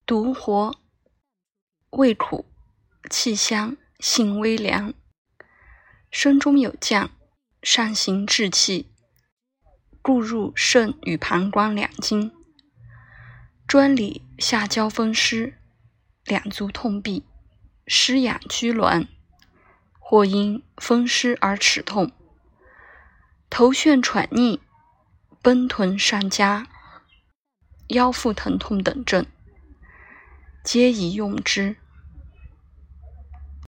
独活，味苦，气香，性微凉，身中有降，上行滞气，故入肾与膀胱两经，专里下焦风湿，两足痛痹，湿痒拘挛，或因风湿而齿痛，头眩喘逆，奔豚上夹，腰腹疼痛等症，皆宜用之。